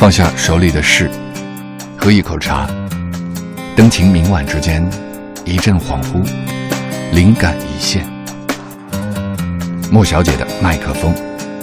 放下手里的事，喝一口茶，灯情明晚之间，一阵恍惚，灵感一现。莫小姐的麦克风。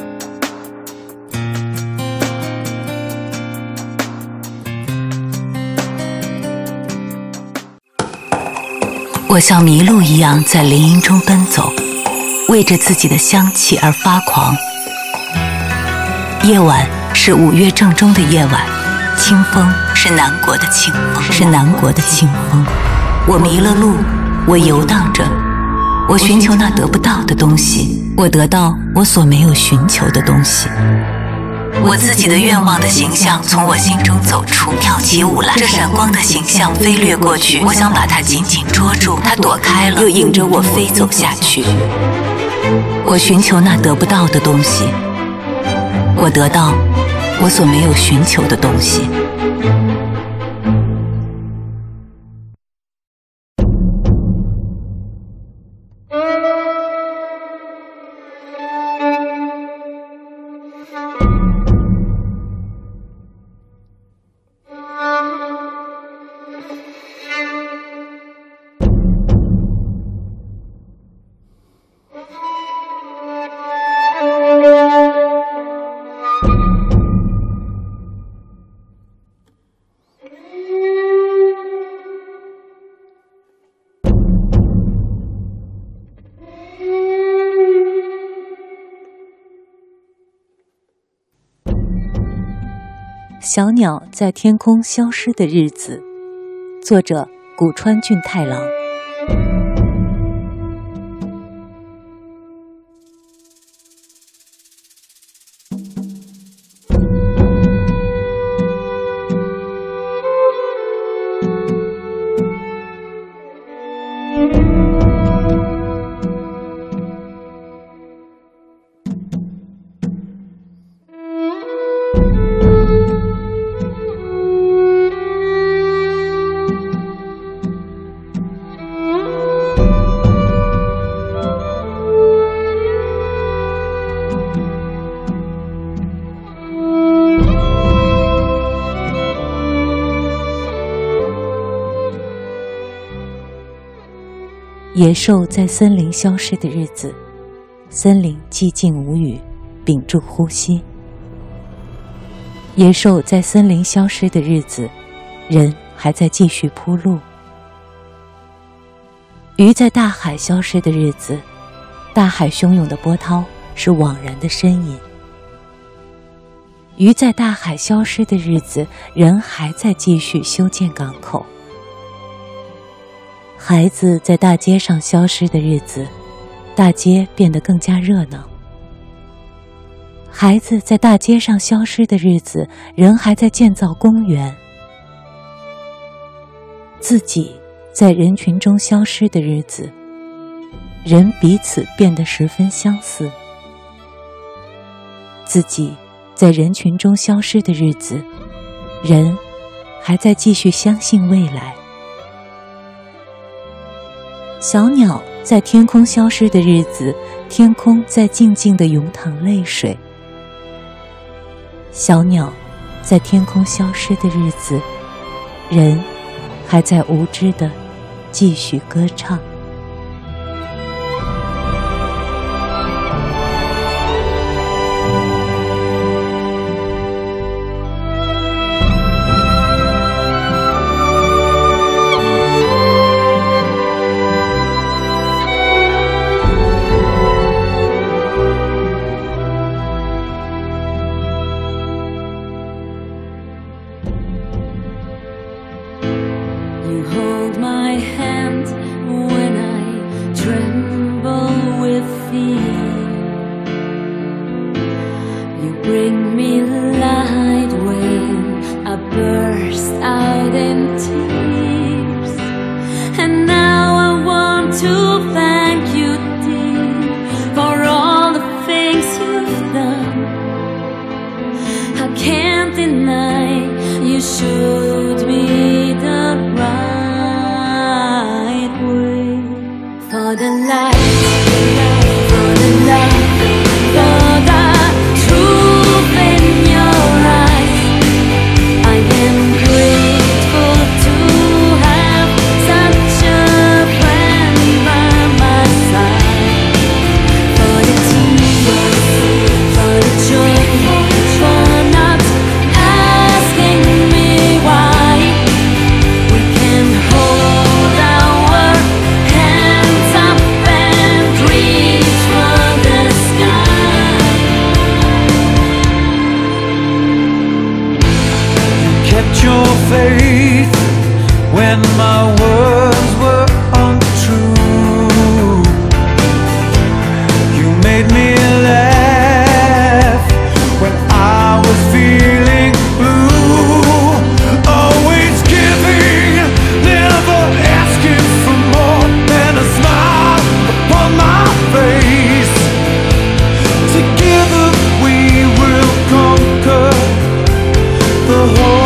我像麋鹿一样在林荫中奔走，为着自己的香气而发狂。夜晚是5月正中的夜晚，清风是南国的清风，我迷了路，我游荡着，我寻求那得不到的东西，我得到我所没有寻求的东西。我自己的愿望的形象从我心中走出，跳起舞来。这闪光的形象飞掠过去，我想把它紧紧捉住，它躲开了，又引着我飞走下去。我寻求那得不到的东西，我得到我所没有寻求的东西。 小鸟在天空消失的日子，作者古川俊太郎。野兽在森林消失的日子，森林寂静无语，屏住呼吸。野兽在森林消失的日子，人还在继续铺路。鱼在大海消失的日子，大海汹涌的波涛是惘然的呻吟。鱼在大海消失的日子，人还在继续修建港口。孩子在大街上消失的日子，大街变得更加热闹。孩子在大街上消失的日子，人还在建造公园。自己在人群中消失的日子，人彼此变得十分相似。自己在人群中消失的日子，人还在继续相信未来。小鸟在天空消失的日子，天空在静静地涌淌泪水。小鸟在天空消失的日子，人还在无知地继续歌唱。 You hold my hand when I tremble with fear. You bring me light when I burst out in tears. And now I want to thank you, dear, for all the things you've done. I can't deny you showed me the right way. For the light, for the love, for the truth in your eyes. appreciate your faith when my words were untrue. You made me laugh when I was feeling blue. Always giving, never asking for more than a smile upon my face. Together we will conquer the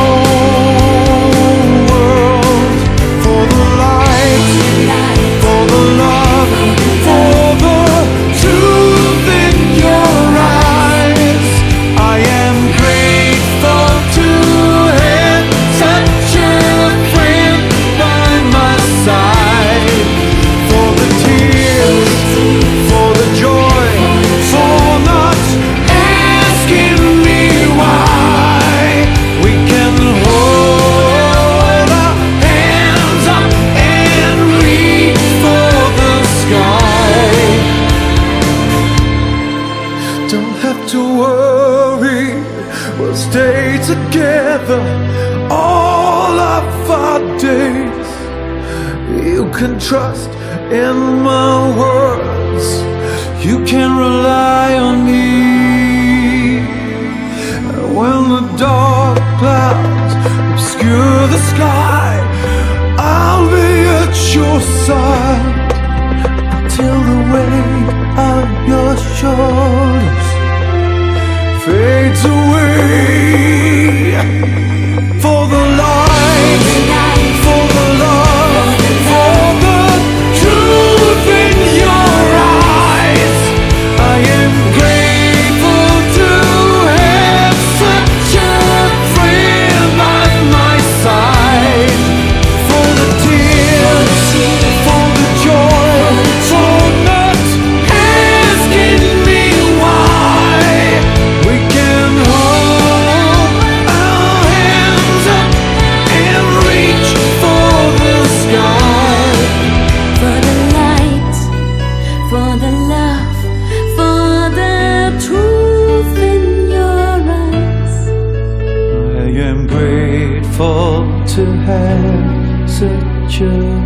whole world. For the light, for the love, for the truth in your eyes. I am grateful to have such a friend by my side. For the tears, for the joy, for not asking me why. We can hold our hands up and reach for the sky. Don't have to worry, we'll stay together all of our days. You can trust in my words, you can rely on me. When the dark clouds obscure the sky, I'll be at your side till the weight of your shoulders fades away. For the light, for the love, for the truth in your eyes. I am grateful to have such a friend by my side. For the tears, for the joy, for not asking me why. We can hold our hands up and reach for the sky. For the light, for the love, for the truth in your eyes. I am grateful to have such a